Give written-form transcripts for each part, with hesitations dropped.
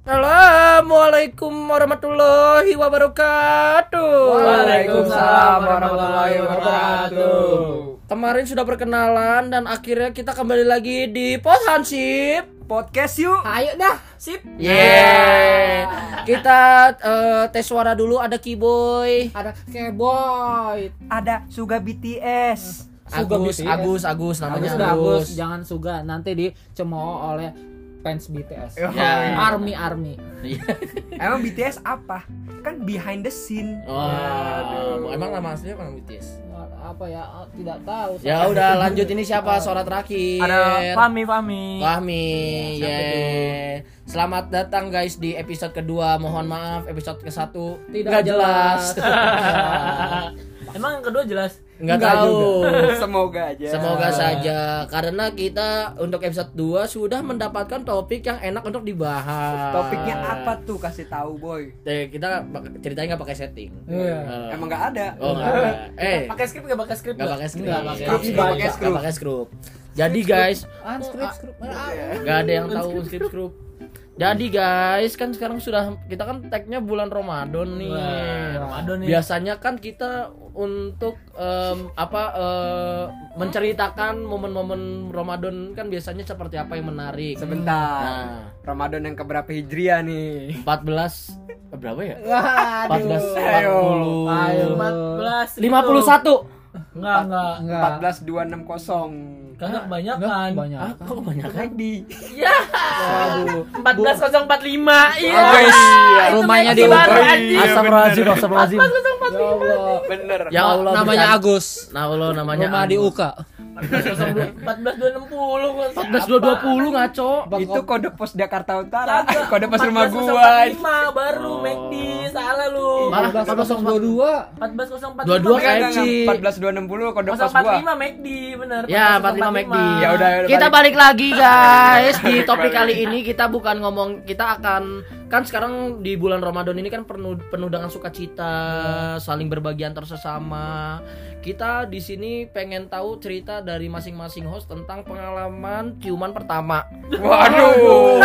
Assalamualaikum warahmatullahi wabarakatuh. Waalaikumsalam warahmatullahi wabarakatuh. Kemarin sudah perkenalan dan akhirnya kita kembali lagi di Hansip Podcast yuk. Ayo dah, sip. Kita tes suara dulu. Ada Kiboy, Ada Keboy. Ada Suga BTS. Agus namanya Agus. Jangan Suga, nanti dicemooh oleh fans BTS. Ya. Army. Emang BTS apa? Kan behind the scene. Emang nama aslinya apa BTS? Apa ya? Tidak tahu. Ya udah lanjut, ini siapa suara terakhir? Ada Fahmi. Selamat datang guys di episode kedua. Mohon maaf episode ke-1 Tidak nggak jelas. Emang yang kedua jelas? Nggak tahu. Semoga aja. Semoga saja, karena kita untuk episode 2 sudah mendapatkan topik yang enak untuk dibahas. Topiknya apa tuh? Kasih tahu boy. Kita ceritanya nggak pakai setting. Iya. Emang nggak ada. Oh nggak ada. Pakai skrip nggak pakai skrip? Nggak pakai skrip. Nggak pakai Nggak skrip. Nggak pakai skrip. Jadi guys, Skrip. nggak ada yang tahu skrip. Jadi guys, kan sekarang kita kan tagnya bulan Ramadan nih. Ramadan nih. Biasanya kan kita untuk menceritakan momen-momen Ramadan kan biasanya seperti apa yang menarik. Sebentar. Nah, Ramadan yang keberapa Hijriah nih? 14 berapa ya? Aduh. 14 40 14 51. Enggak. 14260. Kagak kebanyakan. Banyak. Ah, kok kebanyakan? Ya. 14045. Iya. Rumahnya Itu di baru, Ubay. anjing. Astagfirullahaladzim. 14045. Bener. Ya Allah, Namanya bukan. Agus. Nah, Allah namanya Rumah di Agus. UK. 14260. 14220 ngaco. Itu kode pos Jakarta Utara. Kagak. Kode pos rumah gua. 14045 baru McD. Salah lu. Malah 14022. 14045. 22 Enggak, KFC. 14260 kode pos gua. 145 McD bener. Ya, 45 McD. Ya udah, Kita balik lagi guys. Di topik kali ini kita bukan kita akan kan sekarang di bulan Ramadan ini kan penuh dengan sukacita, saling berbagi antar sesama. Kita di sini pengen tahu cerita dari masing-masing host tentang pengalaman ciuman pertama. Waduh.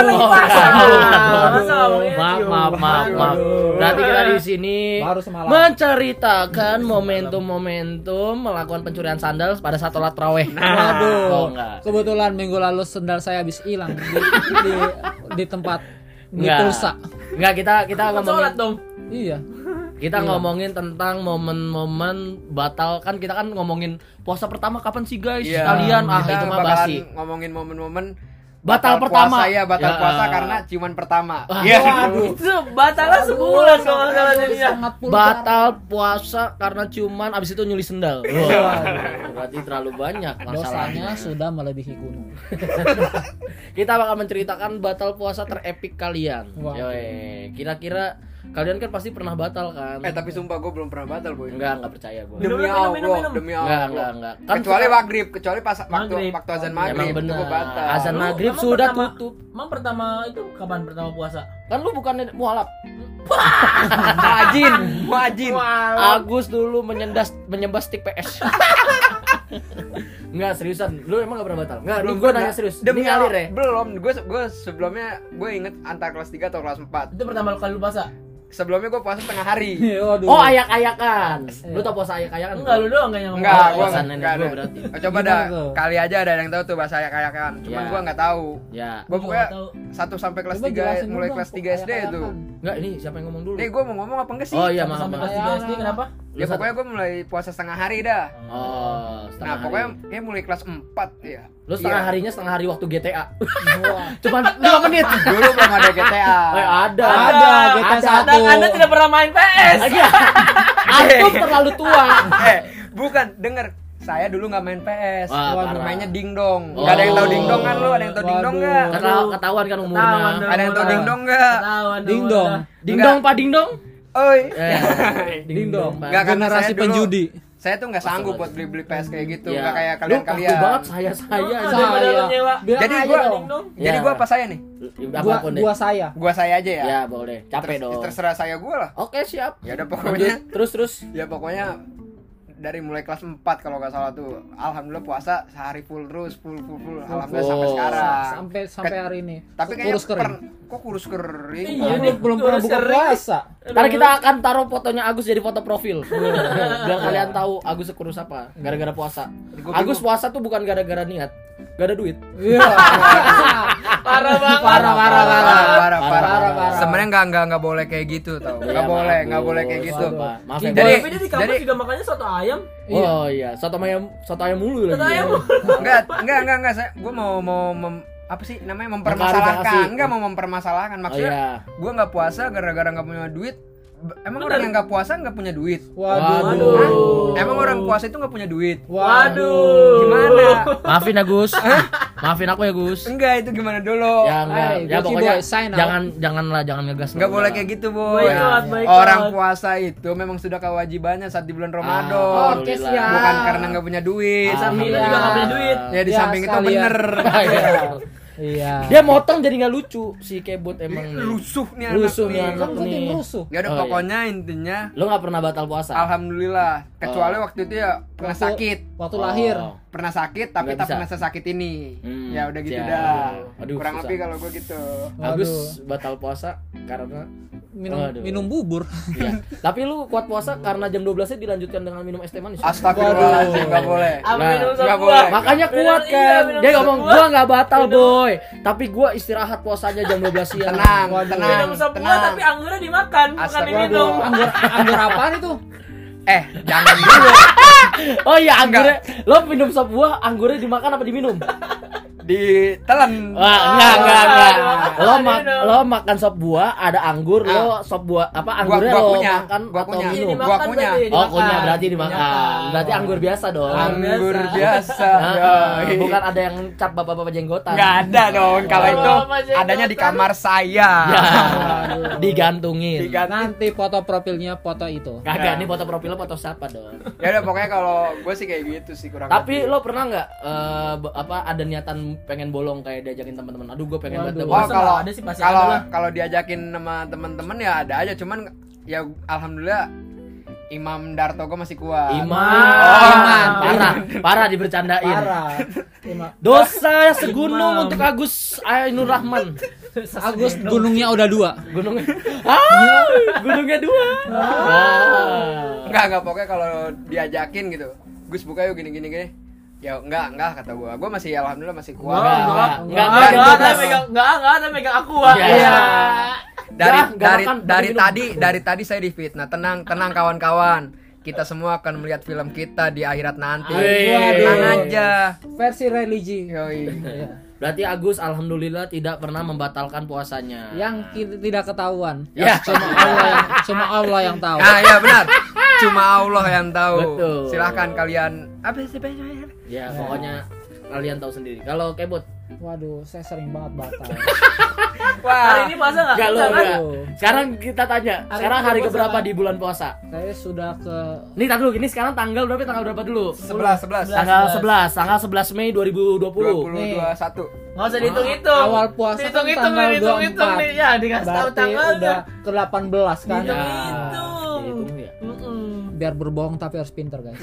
Maaf. Berarti kita di sini Baru semalam. menceritakan momentum-momentum melakukan pencurian sandal pada saat sholat tarawih. Waduh. Oh, enggak. Kebetulan minggu lalu sendal saya habis hilang di tempat di Enggak. pulsa. Enggak, kita Sholat ngomongin dong. Iya. kita ngomongin tentang momen-momen batal. Kan kita kan ngomongin puasa pertama kapan sih guys? Iya. Kalian Kita itu mah bakalan basi. ngomongin momen-momen Batal pertama. puasa, batal Ya. puasa karena ciuman pertama. Ah, Iya. Itu batalnya sebulan kalau nggak salah jadinya. Sangat pulsa. Batal puasa karena ciuman, abis itu nyuli sendal. Wah, berarti terlalu banyak Dosanya masalahnya. sudah melebihi gunung. Kita bakal menceritakan batal puasa terepik kalian. Wah. Yoi. Kira-kira kalian kan pasti pernah batal kan? Tapi sumpah gue belum pernah batal boy. Enggak percaya gue. Demi Minum, Allah, minum. demi Allah. Enggak. Kan Kecuali sekarang- maghrib, kecuali pas Maghrib. waktu azan Emang maghrib itu bener. gue batal. Azan Lu maghrib emang sudah pertama- tutup. Emang pertama itu kapan pertama puasa? Kan lu bukannya mualaf. Muajin. Agus dulu menyembah stick PS. Enggak, seriusan. Lu emang gak pernah batal? Enggak, lu gua nanya serius. Demi Ini ngalir ya? Belum, gue sebelumnya gue inget antara kelas 3 atau kelas 4. Itu pertama kali lu puasa? Sebelumnya gue puasa setengah hari. Waduh. Oh, ayak-ayakan. Lu tau puasa ayak-ayakan? Enggak, lu doang kayaknya ngomong. Enggak, Oh, gue alasan nenek enggak gua ada. berarti. Coba Gimana dah, tuh? kali aja ada yang tahu tuh bahasa ayak-ayakan. Cuman Ya. gue nggak tahu. Ya. Gue Gua pokoknya nggak tahu. 1 sampai kelas Coba 3, jelasin mulai dulu kelas dong, 3 SD itu. Enggak, ini siapa yang ngomong dulu? Nih gue mau ngomong apa enggak sih? Oh iya, Sampai maaf. kelas 3 SD kenapa? Ya pokoknya gue mulai puasa setengah hari dah. Oh, setengah Nah, hari. pokoknya kayak mulai kelas 4 ya. Lu setengah Iya. harinya setengah hari waktu GTA. Cuman 5 menit. Dulu belum ada GTA. Ada. Ada, GTA Anda, 1. Anda tidak pernah main PS. Antum terlalu tua. Bukan, denger. Saya dulu nggak main PS. Wah, parah. Mainnya dingdong. Oh. Gak ada yang tahu dingdong kan lu? Ada yang tahu dingdong nggak? Ketahuan kan umurnya. Ketahuan dong. Ada yang tahu dingdong nggak? Ketahuan Ding dong. Dingdong Pak Dingdong. Oi. Ding-dong. Pak. Nggak, karena Generasi saya dulu- penjudi. Saya tuh nggak sanggup buat beli PS kayak gitu. Ya. Nggak kayak Lu kaku kalian-kalian. banget saya. Daripada lu nyewa. Bilang Jadi aja gua dong. Jadi Ya. gua apa saya nih? Apapun deh. Gua saya. Gua saya aja ya. Ya, boleh. Capek dong. Terserah saya gua lah. Oke, siap. Ya udah pokoknya. Lanjut. Terus. Ya pokoknya dari mulai kelas 4 kalau nggak salah tuh. Alhamdulillah puasa sehari full terus, full. Alhamdulillah sampai sekarang. Sampai hari ini. Tapi kayaknya kurus kering. kok kurus kering? Iya, nih, belum pernah buka puasa. Ntar kita akan taruh fotonya Agus jadi foto profil. Biar kalian tahu Agus sekurus apa gara-gara puasa. Agus puasa tuh bukan gara-gara niat, gak ada duit. Iya. Parah banget. Parah. Sebenarnya nggak boleh kayak gitu tau. Nggak boleh kayak gitu. Maaf ya. Jadi- Tapi dia di kampus juga makannya soto ayam. Oh iya, soto ayam mulu Soto lagi. ayam. Enggak. Gue mau apa sih namanya Mengklarifikasi. mau mempermasalahkan Oh maksudnya. iya. Gue nggak puasa gara-gara nggak punya duit. Emang orang yang nggak puasa nggak punya duit? Waduh. Emang orang puasa itu nggak punya duit? Waduh. Gimana? Maafin Agus. Maafin aku ya Gus. Enggak, itu gimana dulu? Ya enggak. Hai, Ya Gucci pokoknya boy, sign out. jangan ngegas. Nggak boleh kayak gitu, Boy. Boykot. Orang puasa itu memang sudah kewajibannya saat di bulan Ramadan. Oke, Alhamdulillah. siap. Bukan karena nggak punya duit. Samping itu Iya. juga nggak punya duit. Ya di Ya, samping itu sekalian. bener. Iya. Dia motong jadi nggak lucu si Kebot emang. nih. Rusuh nih anak Rusuh nih nih. anak Kan penting nih. rusuh. Ya udah Oh, iya. pokoknya intinya Lo nggak pernah batal puasa? alhamdulillah. Kecuali waktu itu ya pernah Waktu- sakit. Waktu lahir. Pernah sakit tapi Nggak tak bisa. pernah sesakit ini. Ya udah gitu siap. dah. Aduh, Kurang susah. lebih kalau gue gitu. Agus Waduh. batal puasa karena Waduh. Minum bubur. iya. Tapi lu kuat puasa karena jam 12-nya dilanjutkan dengan minum es teh manis. Astagfirullahaladzim, nggak boleh. Apa Nah, minum nggak sop boleh. buah? Makanya Minum- kuat iya, kan. minum Dia sop ngomong buah. gua nggak batal Minum- boy, tapi gua istirahat puasanya jam 12 siang. Tenang, Waduh. tenang, Minum sop buah tenang. tapi anggurnya dimakan, bukan Astagfirullah. diminum. Anggur apaan itu? Jangan dulu. Oh iya anggurnya. Lo minum sop buah, anggurnya dimakan apa diminum? Ditelan. Wah, enggak. Lo Diminum. lo makan sop buah, ada anggur, lo sop buah apa anggurnya Gua lo punya, makan gua atau punya. minum? Dimakan Gua punya. berarti, Oh, dimakan. kunyah berarti dimakan. Dimakan. Berarti anggur biasa dong. Anggur biasa. Nah, doi. bukan ada yang cap bapak-bapak jenggotan. Nggak ada dong. Kalau Oh, itu Mas Jenggotan. adanya di kamar saya. Ya, digantungin. Nanti foto profilnya foto itu. Kagak, nih foto profilnya foto siapa dong? Ya udah pokoknya kalau gue sih kayak gitu sih kurang. Tapi lebih. lo pernah nggak ada niatan pengen bolong kayak diajakin teman-teman? Aduh, gue pengen Waduh. banget Oh, bolong. Masa kalau nggak ada sih, pasti ada lah. kalau diajakin sama teman-teman ya ada aja, cuman ya alhamdulillah Imam Darto gue masih kuat. Iman. Parah dibercandain. Parah. Dosa segunung untuk Agus Ainur Rahman. Agus gunungnya udah 2. Gunungnya. Gunungnya 2. Enggak pokoknya kalau diajakin gitu. Gus buka yuk gini. Ya enggak kata gue. Gue masih alhamdulillah masih kuat. Enggak. Enggak ada megang aku. Wak. Iya. Dari tadi saya difitnah. Tenang kawan-kawan. Kita semua akan melihat film kita di akhirat nanti. Waduh. Tenang aja. Versi religi. Yoi. Iya. Berarti Agus alhamdulillah tidak pernah membatalkan puasanya. Yang tidak ketahuan. Ya. Cuma Allah yang tahu. Ah ya benar. Cuma Allah yang tahu. Betul. Silahkan kalian. Apa sih? Ya, pokoknya kalian tahu sendiri. Kalau Kebot, Waduh, saya sering banget batal. Hari ini puasa enggak? enggak lo Kan? enggak. Sekarang kita tanya, sekarang hari puasa keberapa kan? di bulan puasa? Saya sudah ke Nih, tar dulu, ini sekarang tanggal berapa dulu? 11. Tanggal 11 Mei 2020. 2021. Enggak usah dihitung-hitung. awal puasa kan Dihitung-hitung tanggal dihitung-hitung 24. nih. Ya, dikasih tahu Berarti tanggal udah ke 18 kan. Dihitung. Dihitung ya. Biar berbohong tapi harus pintar, guys.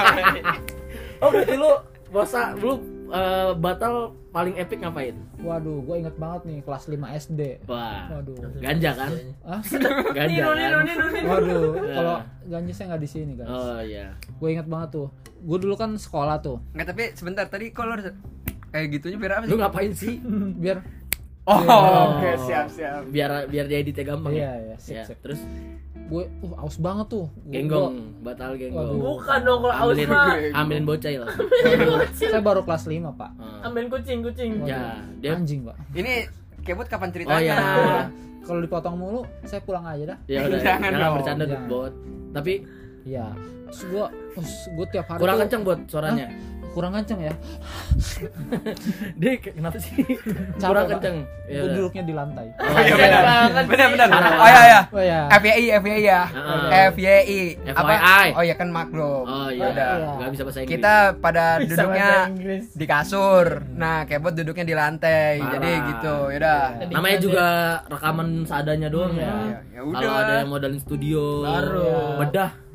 Oh, berarti lu puasa lu batal paling epic ngapain? Waduh, gue inget banget nih kelas 5 SD. Wah, Waduh. ganja kan? Ah, Ganja kan? waduh, Ya. kalau ganja saya nggak di sini, guys. Oh iya. Gue inget banget tuh. Gue dulu kan sekolah tuh. Enggak, tapi sebentar tadi kalau kayak gitunya biar apa Lu sih? ngapain sih? Biar Oke, siap. Biar dia editnya gampang Iya, ya. iya, sip. Terus gue aus banget tuh. genggong, batal genggong. Waduh. Bukan dong kalau aus Ambilin, mah. ambilin bocil. Saya baru kelas 5, Pak. Ambilin kucing. Ya, dia Anjing, Pak. Ini Kebot kapan Oh ceritanya? iya. Kalau dipotong mulu, saya pulang aja dah. Ya udah, Jangan jangan dong. bercanda tuh, Jangan. Bot. Tapi Iya. Terus gue tiap hari kurang tuh, kenceng, Bot, suaranya. kurang kenceng ya. Dia kenapa sih? Capek, Kurang Pak. kenceng. Ya Gue udah. duduknya di lantai. Oh, Iya iya. benar. Parah. Oh iya. Oh ya. FYI ya. Heeh. FYI. FYI. Oh iya kan maklum. Oh iya, Udah. enggak bisa bahasa Inggris. Kita pada Bisa duduknya bahasa Inggris. di kasur. Nah, Kebot duduknya di lantai. Parah. Jadi gitu. Yaudah. Namanya juga rekaman seadanya doang ya. Ya Kalau udah. ada yang modalin studio, Baru. bedah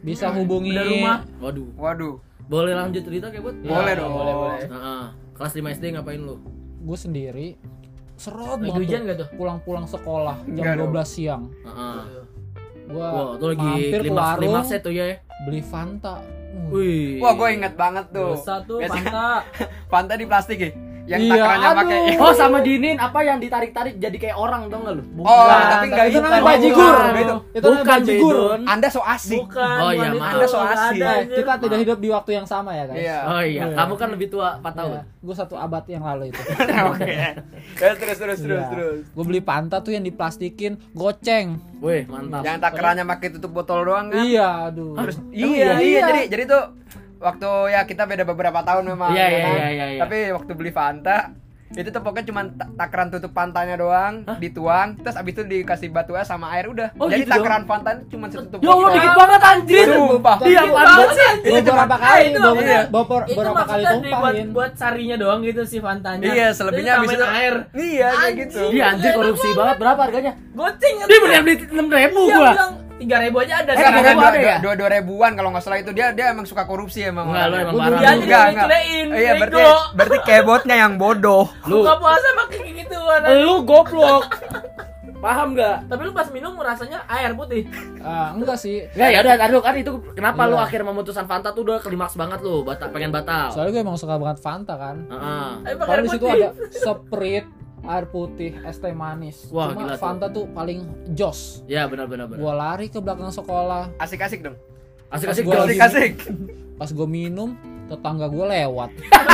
bisa hubungi Udah rumah. Waduh. Waduh. Boleh lanjut cerita kayak buat? Boleh dong. boleh. Heeh. Kelas 5 SD ngapain lu? gue sendiri. Serot Lagi banget hujan tuh. gak tuh? Pulang-pulang sekolah Enggak jam dong. 12 siang. Heeh. Gua Wah, itu lagi mampir ke klimaks warung tuh ya. beli Fanta. Wih. Wah, gue inget banget tuh. Dosa tuh Biasanya Fanta. Fanta di plastik ya. Yang Iya, takarannya aduh. pakai. Oh, sama dinin apa yang ditarik-tarik jadi kayak orang tau gak lu? Oh, tapi enggak itu namanya itu. bajigur. Itu. Itu namanya bajigur. Bedon. Anda so asik. Bukan. Oh, iya, bukan maaf. itu. Anda so Nggak asik. ada, Eh, anjir. kita tidak hidup di waktu yang sama ya guys. Iya. Oh iya, Iya. kamu kan lebih tua 4 tahun. Gue 1 abad yang lalu itu. Oke. Terus. Gue beli Fanta tuh yang diplastikin, goceng. Wih, mantap. Yang takarannya pakai tutup botol doang kan? Iya, aduh. Terus Emang iya. Jadi tuh waktu ya kita beda beberapa tahun memang. Iya, ya iya, kan? iya. Tapi waktu beli Fanta itu tuh pokoknya cuma takaran tutup Fantanya doang, dituang, terus abis itu dikasih batu es sama air udah. Oh, Jadi gitu takaran Fanta cuma setutup Ya Allah, botol. dikit banget anjir. Sumpah. Iya, Dikit apaan banget banget sih. Gue beberapa kali, itu beberapa itu kali maksudnya dibuat tumpahin. buat sarinya doang gitu si Fantanya. Iya, selebihnya Terus abis itu tambahin air. Iya, kayak gitu. Iya anjir, korupsi banget. Berapa harganya? Goceng Dia beli 6.000 Dia gua. bilang 3.000 aja ada. Eh, Sekarang ada ya? dua ribuan kalau nggak salah itu dia emang suka korupsi emang. Enggak, lu orangnya. emang Gua parah. dulu- Dia lu. aja dicelein. Iya, bego. berarti kayak botnya yang bodoh. Lu Buka puasa pakai kayak gituan. lu goblok. Paham enggak? Tapi lu pas minum rasanya air putih. Enggak sih. Enggak ya udah aduh kan itu kenapa Iya. lu akhirnya memutuskan Fanta tuh udah klimaks banget lu, pengen batal. Soalnya gue emang suka banget Fanta kan. Heeh. Tapi pakai Kalau air di situ putih. ada Sprite, air putih, es teh manis. Wah, Cuma gila tuh. Fanta tuh paling jos. Ya benar. Gua lari ke belakang sekolah. Asik-asik dong. Asik-asik Gua jos. lagi- Asik-asik. Pas gue minum, tetangga gue lewat.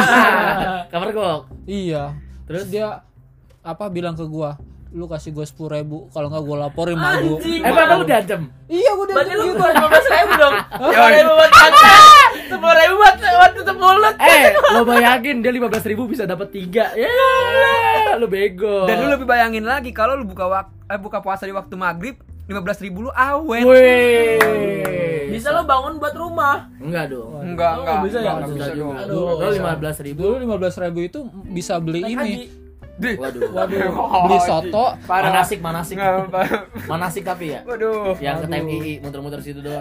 Kamar gok. Iya. Terus dia bilang ke gua, lu kasih gue 10.000, kalau nggak gue laporin sama gue. Anjing. Emang lu diancam? Iya, gue udah Berarti lu gitu. keluar 15.000 dong. 10.000 buat Fanta. 10.000 buat tutup mulut. Lo bayangin dia 15.000 bisa dapat 3. Ya, lu bego. Dan lu lebih bayangin lagi kalau lu buka puasa di waktu maghrib 15.000 lu awet. Wih. Bisa lo bangun buat rumah. Enggak dong. Enggak, Oh, nggak bisa ya? nggak Enggak bisa dong. juga. Aduh. Lo 15.000. Dulu 15.000 itu bisa beli Naik ini. haji. Waduh. Beli soto. Parah. Manasik. Nggak, Manasik tapi ya. Waduh. Yang ke Aduh. TMI muter-muter situ doang.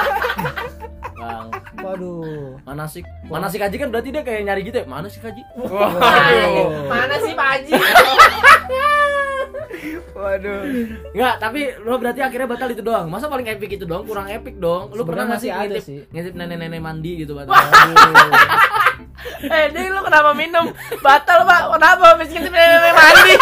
Bang, Waduh. manasik haji kan berarti dia kayak nyari gitu ya. Mana sih haji? Waduh. Mana sih Pak Haji? Waduh. Enggak, tapi lo berarti akhirnya batal itu doang. Masa paling epic itu doang? Kurang epic dong. Lu pernah Sebenarnya nggak sih masih ada ngintip, sih. ngintip nenek-nenek mandi gitu batal? Ding lu kenapa minum? Batal Pak. Kenapa habis ngintip nenek mandi?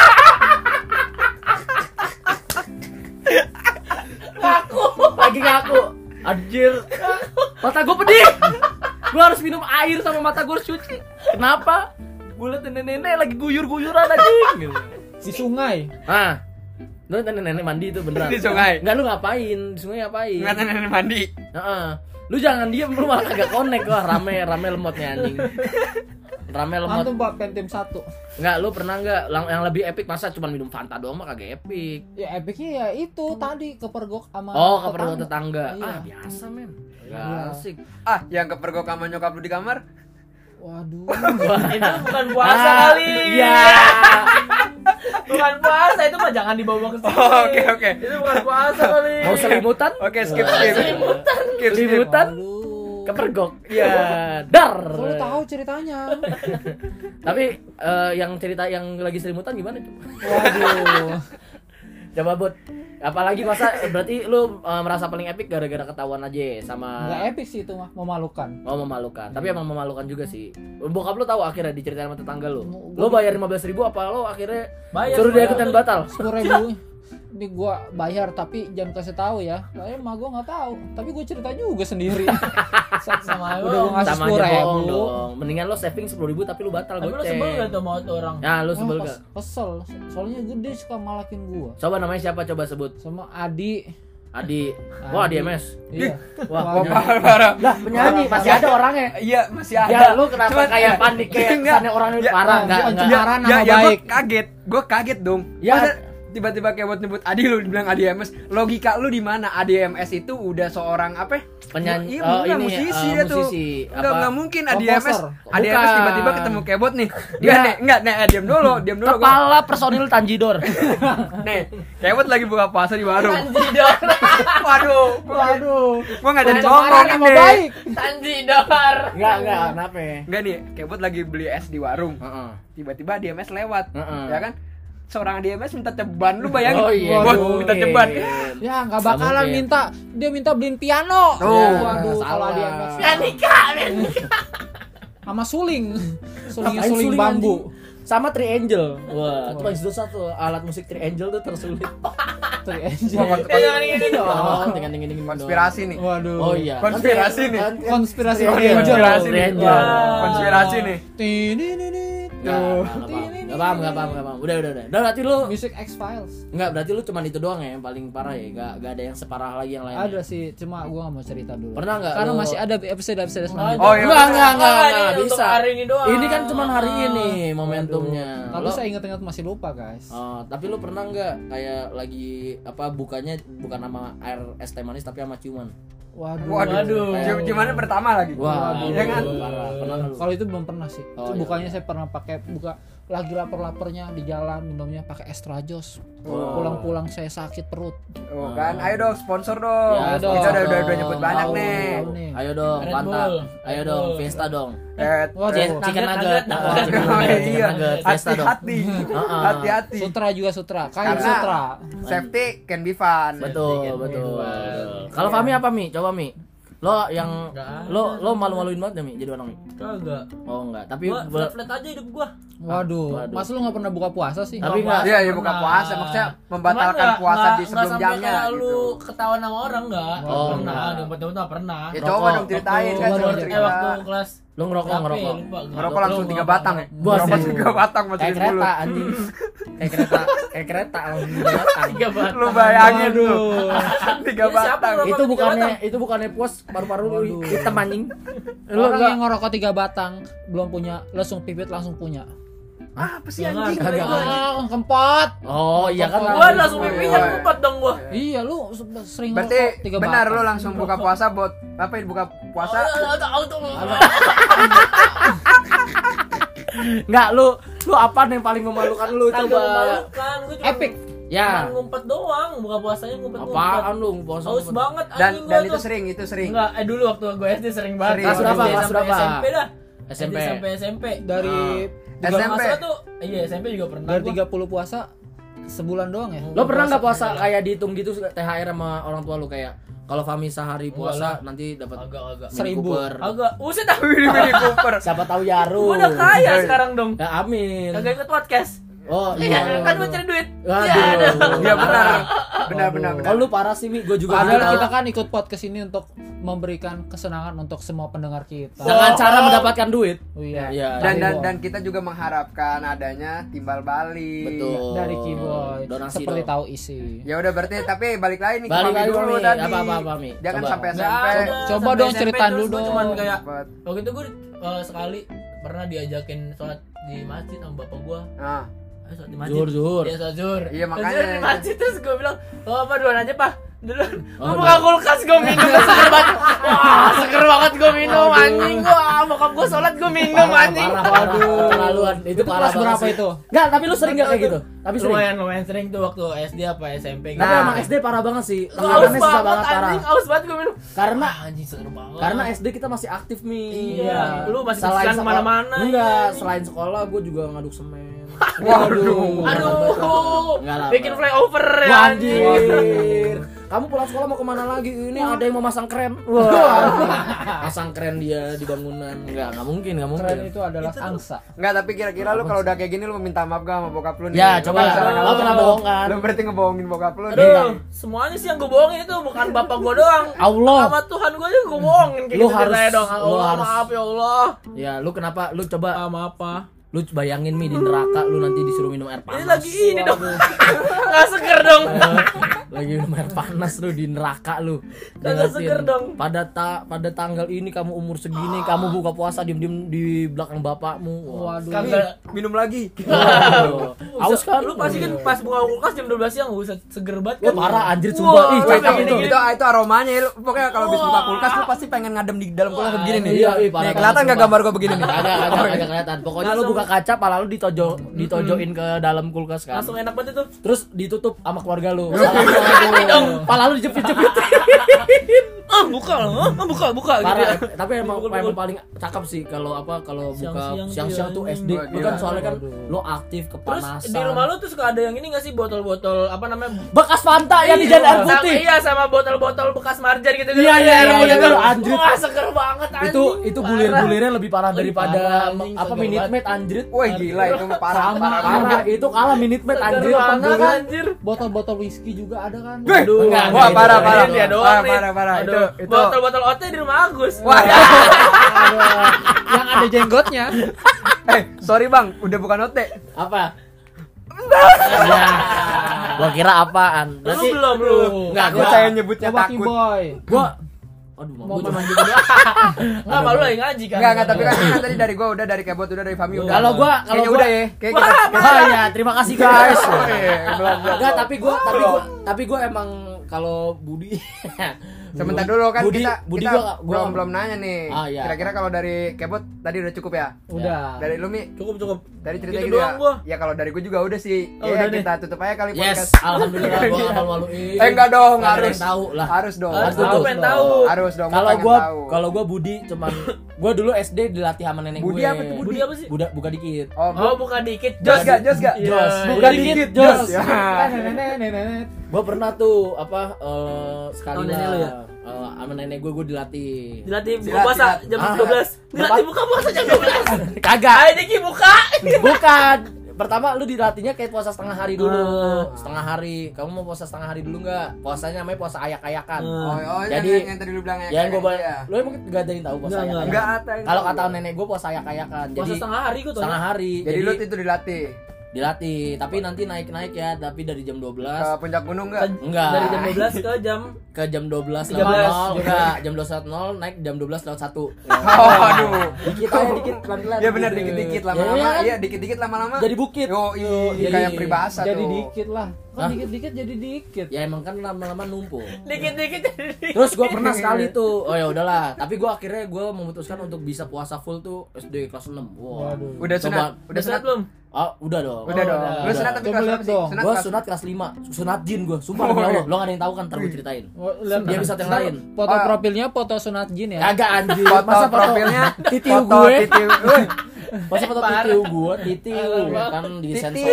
Lagi ngaku. Anjir. Mata gue pedih. Gue harus minum air sama mata gue harus cuci. Kenapa? Gue liat nenek-nenek lagi guyur-guyuran anjing gitu. Di sungai. Ah. Lu nenek-nenek mandi itu beneran. Di sungai. Enggak, lu ngapain? Di sungai ngapain? Ngeliat nenek mandi. Heeh. Lu jangan diem, lu malah agak connect. Wah, rame lemotnya anjing. Rame lemot. Antum Pak Pentium 1. Enggak, lu pernah enggak yang lebih epic masa cuma minum Fanta doang mah kagak epic. Ya epicnya ya itu tadi kepergok sama Oh, kepergok tetangga. Iya. Ah, biasa, men. Gak Iya. asik. Ah, yang kepergok sama nyokap lu di kamar? Waduh. Itu bukan puasa kali. Iya. Bukan puasa, itu mah jangan dibawa ke sini. Oh, oke. Itu bukan puasa kali. Mau selimutan? Oke, skip. Selimutan? Waduh. Kepergok. Iya, dar. Lu tahu ceritanya. Tapi yang cerita yang lagi selimutan gimana tuh? Waduh. Coba Bud. Apalagi masa berarti lu merasa paling epic gara-gara ketahuan aja sama Enggak epic sih itu mah, memalukan. Oh, memalukan. Tapi emang memalukan juga sih. Bokap lu tahu akhirnya diceritain sama tetangga lu. Gua- Lu bayar 15.000 apa lu akhirnya Bayar, suruh dia bayar. ikutan batal? 10.000 ini gua bayar tapi jangan kasih tahu ya. Soalnya mah gua nggak tahu. Tapi gua cerita juga sendiri. Sama Udah gua ngasih Sama aja bohong 10.000. dong. Mendingan lo saving 10.000 tapi lu batal Tapi lu goceng. sebel gak tuh sama tuh orang? Ya, lu sebel Wah, gak? Kesel. Soalnya gede suka malakin gua. Coba namanya siapa? Coba sebut. Sama Adi. Adi. Wah, Adi MS. Iya. Wah, Waduh. Parah. lah penyanyi masih ada orangnya. Iya, masih ada. Ya, lu kenapa kayak panik kayak Enggak. kesannya orangnya Ya, parah? Enggak, bukan enggak. cuma- Cemaran nama ya, baik. Gue kaget dong. Ya, tiba-tiba Kebot nyebut Adi, lu bilang Adi MS. Logika lu di mana? Adi MS itu udah seorang apa? Penyanyi, Iya, ini, musisi dia tuh. musisi. Enggak mungkin Adi MS. Komposer. Adi MS Bukan. tiba-tiba ketemu Kebot nih. Dia- Enggak, diam dulu. Gua. Kepala personil Tanjidor. Nih, Kebot lagi buka puasa di warung. Tanjidor. Waduh. Gua enggak jadi ngomong Pencemaran nama ini. baik. Tanjidor. Enggak, kenapa? Enggak nih, Kebot lagi beli es di warung. Heeh. Tiba-tiba DMS lewat. Heeh. Ya kan? Seorang DMS minta ceban, lu bayangin. Oh iya. Bot, minta ceban. Ya nggak bakalan mungkin. dia minta beliin piano. Tuh. Waduh, Salah. kalau dia MS Pianika. sama suling Ngapain suling suling, bambu. Sama Triangle. Wah, itu paling susah tuh alat musik Triangle tuh tersulit. Three Angel. Jangan ini dong. Oh, dengan Konspirasi nih. Waduh. Oh iya. Konspirasi nih. Konspirasi Triangle. Angel. Konspirasi nih. Triangle. Wah, konspirasi nih. Enggak paham. Udah. Udah berarti lu Music X Files. enggak berarti lu cuman itu doang ya yang paling parah ya. Enggak ada yang separah lagi yang lain. Ada sih, cuma gua nggak mau cerita dulu. Pernah nggak Karena lu- masih ada episode selanjutnya. Oh, iya. Enggak ini untuk bisa. hari ini doang. Ini kan cuman hari ini momentumnya. Tapi Lu- saya ingat-ingat masih lupa, guys. Oh, tapi lu pernah nggak kayak lagi apa bukanya bukan sama air es teh manis tapi sama ciuman? Waduh. Gimana pertama lagi? Wah, ya kan? parah. Pernah nggak lu? Kalau itu belum pernah sih. Oh, Itu iya. bukannya saya pernah pakai lagi lapar-laparnya di jalan minumnya pakai Extra Joss. Oh. Pulang-pulang saya sakit perut. Oh, kan, ayo dong sponsor dong. Ya, dong. Kita udah dong. nyebut banyak Tahu. nih. Tahu nih. Ayo dong, Red Fanta. Bull. Ayo Red dong, Bull. Fiesta dong. Waduh. Chicken Nugget, nugget. nugget. Chicken Oh, nugget, iya. chicken nugget, Fiesta dong. Hati-hati. Heeh. Hati-hati. Sutra juga Sutra. Kain Karena- Sutra. Safety can be fun. Betul. Kalau Fami apa Mi? Coba Mi. Lo yang Enggak lo malu-maluin banget ya Mi jadi orang Mi? Kagak. Oh enggak, tapi Gua flat aja hidup gua. Waduh. Mas lu nggak pernah buka puasa sih? Tapi nggak- Iya, ya buka puasa maksudnya membatalkan puasa di sebelum jamnya kayak gitu. lu ketahuan sama orang enggak? Oh, pernah, enggak. dompet-dompet enggak pernah. Ya Rokok. coba dong ceritain kan Waktu- coba waktu- cerita. Waktu kelas lo ngerokok. berapa ya? Lupa. Ngerokok langsung 3 batang ya. Buat Ngerokok sih. 3 batang Kayak masukin mulut. kereta anjing. Kayak kereta langsung batang. 3 batang. Lu bayangin Waduh. tuh. 3 Ini siapa batang. ngerokok? Itu bukannya puas paru-paru lu Waduh. hitam anjing. Lu Orang enggak yang ngerokok 3 batang belum punya, langsung pipit langsung punya. Apa sih Jangan. anjing? Kagak. Kempot. Oh iya kan. Gua langsung pipinya ngumpet dong gua. Iya, lu sering Berarti ngerokok 3 benar batang. lu langsung buka puasa buat apa ya buka puasa? Auto. Enggak lu apa yang paling memalukan lu Kagak coba? memalukan, gua cuma Epic. Ya. cuma ngumpet doang, buka puasanya ngumpet. Apaan lu puasa? Haus banget Dan anjing gua itu tuh. sering. Enggak, dulu waktu gue SD sering banget. Sering. Kelas berapa? SD Kelas sampai berapa? SMP dah. SMP. SD sampai SMP. Dari SMP. Kalau nggak salah tuh, iya SMP juga pernah. dari gua. 30 puasa sebulan doang ya. Lo pernah nggak puasa kayak dihitung gitu THR sama orang tua lu kayak kalau Fami sehari puasa Enggak nanti dapat Agak. Mini 1000. Cooper. Agak. Uset dah. Mini Cooper. Siapa tahu Yaru. Gua udah kaya sekarang dong. Ya amin. Kagak ikut podcast. Oh Iya, iya. kan mau cari duit. Waduh. Ya, Iya benar. Benar. Kalau lu parah sih Mi, gue juga Padahal tahu. kita kan ikut podcast ini untuk memberikan kesenangan untuk semua pendengar kita. Dengan cara mendapatkan duit. Oh iya. Iya. Dan kita juga mengharapkan adanya timbal balik. Betul. Dari Keyboy. Donasi Seperti dong. tahu isi. Ya udah berarti tapi balik lagi nih ke Balik Mami lagi, dulu Mami. tadi. Apa, Mi? Jangan Coba. sampai Nggak SMP. ada. Coba Sampai dong SMP ceritain terus dulu gua dong. Cuman kayak Cepet. waktu itu gue sekali pernah diajakin sholat di masjid sama bapak gua. Nah, Ayo sholat di masjid. Zuhur. Iya sholat zuhur. Iya, Sholat makanya. zuhur di masjid terus gue bilang, oh apa duluan aja pak. Duluan. Oh, Gue buka kulkas gue minum seger banget. Wah seger banget gue minum anjing. Wah bokap gue sholat gue minum anjing. Waduh. Keterlaluan. Itu parah Kelas banget berapa sih. itu? Enggak, tapi lu sering enggak kayak gitu? Tapi sering. Lumayan sering tuh waktu SD apa SMP. Tapi Nah. emang SD parah banget sih. Aus Tangannya susah banget banget parah. anjing, aus banget gue minum. Karena Anjing seger banget. Karena SD kita masih aktif Mi. Iya. Lu masih Selain kesian sekolah- kemana-mana, Enggak, iya. selain sekolah gue juga ngaduk semen. waduh. Aduh. Enggak lah, Bikin Pak. flyover ya Wah, anjing. anjir. Kamu pulang sekolah mau kemana lagi? Ini ada yang mau masang kren. Wah. Masang kren dia di bangunan. Enggak mungkin. Keren itu adalah angsa. Enggak, tapi kira-kira lu kalau udah kayak gini lu minta maaf gak sama bokap lu nih? Ya, Lu coba. misalnya Lo kalau- pernah bohong kan? Lu berarti ngebohongin bokap lu nih. Aduh, semuanya sih yang gue bohongin itu bukan bapak gue doang. Allah. Sama Tuhan gue juga gue bohongin kayak Lu gitu harus- ceritanya dong. lu Allah harus- maaf ya Allah. Ya, lu kenapa? Lu coba Sama apa? lu bayangin Mi di neraka lu nanti disuruh minum air panas. Ini lagi ini dong. Nggak seger dong. Lagi minum air panas lu di neraka lu. Kagak Diingetin, seger dong. Pada tanggal ini kamu umur segini kamu buka puasa diem-diem di belakang bapakmu. Wah. Waduh. Kagak Minum lagi. Waduh. haus kan. Lu pasti kan pas buka kulkas jam 12 siang buset seger banget Wah, kan. parah anjir sumpah. Ih, Wah, cakep gini, itu. gini. Itu aromanya lu. Pokoknya kalau habis buka kulkas lu pasti pengen ngadem di dalam kulkas begini nih. Iya, parah. Nih, kelihatan enggak gambar gua begini nih? Agak kelihatan. Pokoknya lu buka kaca, pala lu ditojoin ke dalam kulkas kan. Langsung enak banget itu. Terus ditutup sama keluarga lu. Pala lu dijepit-jepit. Buka gitu ya. Parah, tapi emang paling cakep sih kalau buka Siang-siang siang-siang tuh tuh, SD. anjing. Itu kan soalnya kan lu aktif Terus kepanasan. di rumah lu tuh suka ada yang ini enggak sih botol-botol apa namanya? bekas Fanta yang dijadiin air putih. Iya, sama botol-botol bekas marjan gitu. Iya, gitu. anjir. Wah, seger banget anjing. Itu bulir-bulirnya lebih parah Lebih daripada parah, anjing, apa seger Minute banget. Maid anjir. Wah, gila itu parah. Parah, itu kalah Minute Maid Seger anjir. banget kan? anjir. Botol-botol whisky juga ada kan. Aduh, Enggak, wah enggak, parah itu parah. Dia doang nih. Parah. Aduh, Itu botol-botol OT di rumah Agus. Wah, Yang ada jenggotnya. sorry Bang, udah bukan OT. Apa? Ya. Gua kira apaan? Lu belum lu. Enggak, Takut saya nyebutnya Coba takut. Boy. gua aduh Mau gua mandi Enggak, malu lagi ngaji kan. Enggak, tapi kan tadi dari gua udah, dari Kebot udah, dari Fami udah. Kalau gua Kayaknya udah ya. Kayak kita ya, terima kasih guys. belum. Enggak, tapi gua emang kalau Budi Sebentar dulu kan Budi kita gua belum nanya nih. Ah, iya. Kira-kira kalau dari Kebot tadi udah cukup ya? Udah. Dari lu Mi, Cukup. dari cerita Gitu gitu, doang gua. ya? Ya kalau dari gua juga udah sih. Oh, Ya udah nih. kita tutup aja kali Yes, podcast. alhamdulillah gua enggak malu-maluin. Enggak dong, Nggak ada harus yang tahu lah. Harus dong. Harus Tahu tutup. pengen tahu. Harus dong. Kalau pengen gua tahu. Budi cuman gua dulu SD dilatih sama nenek Budi gue. apa tuh, Budi apa sih? Buka dikit. Oh, buka dikit. Jos gak? Jos. Buka dikit, Jos. Ya. Gua pernah tuh sekali Oh, nenek lu ya? sama nenek gue dilatih. Dilatih buka Silat, puasa silat. jam Ah. 12. Dilatih buka puasa jam 12. Kagak. Ayo Diki buka. Bukan. Pertama lu dilatihnya kayak puasa setengah hari dulu. Ah. Setengah hari. Kamu mau puasa setengah hari dulu enggak? Puasanya namanya puasa ayak-ayakan. Oh, Jadi, yang tadi lu bilang Ya gua ya. lu emang gak ada yang tahu puasa Enggak, ayak-ayakan. Enggak ada. yang Kalau tahu. kata nenek gue puasa ayak-ayakan. Puasa Jadi setengah hari gua tuh. setengah hari. Jadi lu itu dilatih dilatih, tapi nanti naik-naik ya, tapi dari jam 12 ke puncak gunung enggak? enggak. Dari jam 12 ke jam 12 13. lewat 0, enggak, jam 12 naik jam 12 lewat 1. Oh, aduh. Dikit pelan-pelan. Ya benar dikit-dikit lama-lama. Iya, kan? Iya, dikit-dikit lama-lama. Jadi bukit. Yo, Jadi- kayak peribahasa Jadi tuh. dikit lah. Hah? Kan dikit-dikit jadi dikit. Ya emang kan lama-lama numpuk. dikit-dikit. Terus gue pernah sekali tuh, oh ya udahlah. Tapi gue akhirnya memutuskan untuk bisa puasa full tuh SD kelas 6. Wah. Waduh. Udah sunat, Udah sunat belum? Ah, udah dong. Udah dong. udah. Lu sunat tapi Coba kelas lihat berapa sih? dong. Gue kelas- sunat kelas 5. Sunat jin gue. Sumpah demi Allah. Lo gak ada yang tahu kan, ntar gue ceritain. Oh, lihat Dia bisa yang lain. Foto Oh. profilnya foto sunat jin ya. Kagak anjir. foto Masa profilnya titiu foto gue. titiu. Woi, Masa foto titiu gue, titiu kan di sensor.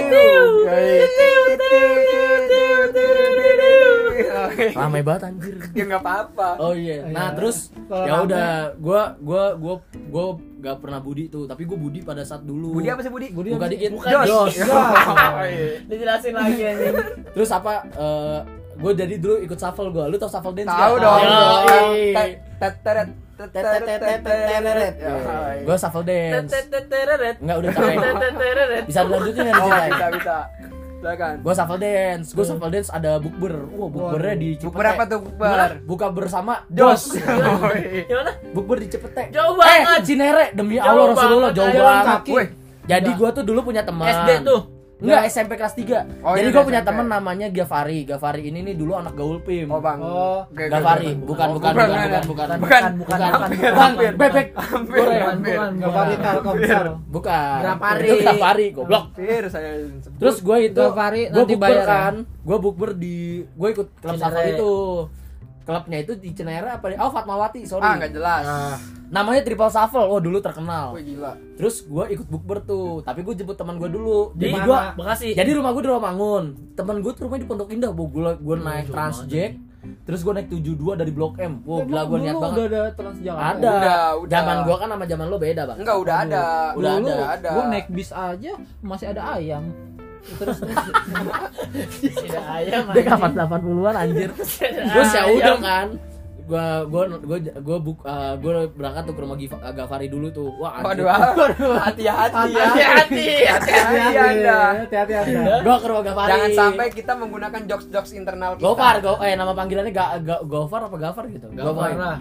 Ramai banget anjir. Ya enggak apa-apa. Oh iya. Nah, Iya. terus Kalau ya rame. udah gua gak pernah Budi tuh, tapi gua Budi pada saat dulu. Budi apa sih Budi? Budi Buka apa sih? dikit. Bukan Jos. Dijelasin lagi anjing. Terus apa gue jadi dulu ikut shuffle gue. Lu tau shuffle dance Tahu nggak? dong. Yoi. Teteret. Gue shuffle dance. Teteret. Enggak udah capek. Bisa dilanjutin nggak Oh, diceritain? bisa. Silakan. Gue shuffle dance ada bukber. Wah, bukbernya di Cipete. Bukber apa tuh, bukber? Buka bersama Jos. Gimana? Bukber di Cipete. Jauh banget. Cinere demi Jauh Allah Rasulullah banget, jauh jalan banget. kaki. Woi, Jadi gue tuh dulu punya teman. SD tuh. Enggak, SMP kelas 3. Oh, Jadi iya, gue udah punya SMP. teman namanya Gavari. Gavari ini nih dulu anak gaul PIM. oh Bang. Oh, Gavari, bukan. Hampir. Bebek. Bukan. Gafari Telkomsel. Bukan. Gavari. Itu Gavari, goblok. Hampir saya sebut. Terus gue itu Gavari gue nanti bukber bayar ya? kan. Gue bukber gue ikut klub Cinere. shuffle itu. Klubnya itu di Cinere apa nih? Oh, Fatmawati, sorry. Ah, enggak jelas. Namanya Triple Shuffle. Oh, dulu terkenal. Wih, gila. Terus gue ikut bukber tuh, tapi gue jemput teman gue dulu. Di Jadi mana? Bekasi. Jadi rumah gue di Rawamangun. Temen gue tuh rumahnya di Pondok Indah. Gue naik Transjack. Terus gue naik 72 dari Blok M. Wow, gila gue niat banget. Udah ada Transjakarta. Ada. Udah. Zaman gue kan sama zaman lo beda, Bang. Enggak, udah ada. Udah Dulu ada. gua naik bis aja masih ada ayam. Terus Tidak ayam. Dia kapan 80-an anjir. Terus ya udah kan. Gue berangkat tuh ke rumah Gavari dulu tuh. Wah, anjir. Waduh, hati-hati ya. Hati-hati. Hati-hati Anda. hati-hati Anda. Gue ke rumah Gavari. Jangan sampai kita menggunakan jokes-jokes internal kita. Gofar, nama panggilannya Gofar apa Gafar gitu? Gofar lah.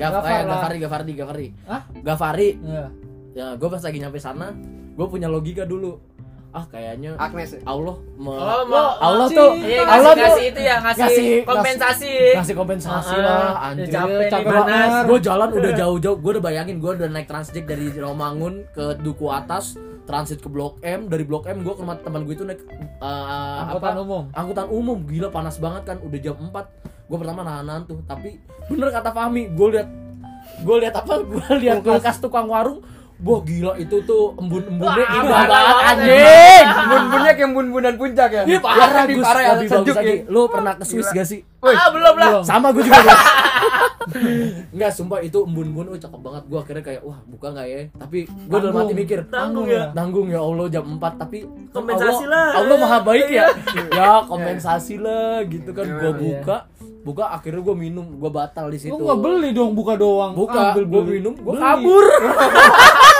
Gavari. Hah? Gavari. Iya. Ya, gue pas lagi nyampe sana, gue punya logika dulu. kayaknya Agnes. Allah Allah tuh ngasih itu ya, ngasih kompensasi lah anjir. capek banget. Gue jalan udah jauh-jauh, gue udah bayangin gue udah naik Transjack dari Romangun ke Duku Atas, transit ke Blok M, dari Blok M gue ke rumah teman gue itu naik angkutan umum. Gila panas banget kan, udah jam 4. Gue pertama nahan tuh, tapi bener kata Fahmi, gue lihat kulkas tukang warung. Wah gila itu tuh embun-embunnya indah banget anjing. Embun-embunnya kayak embun-embunan puncak ya. Iya parah lebih Gus, parah ya, lebih sejuk bagus ya. lagi. Lu pernah ke Swiss gak sih? belum lah. Sama gue juga. Enggak, sumpah itu embun-embun cakep banget. Gue akhirnya kayak wah buka enggak ya? Tapi gue dalam hati mikir, tanggung ya Allah jam 4 tapi Kompensasi lah. Allah Maha baik ya. Ya kompensasi lah gitu kan. Gue buka akhirnya gue minum, gue batal di situ. Lu nggak beli dong, buka doang. Buka, Ambil gue beli. minum, gue Beli. kabur.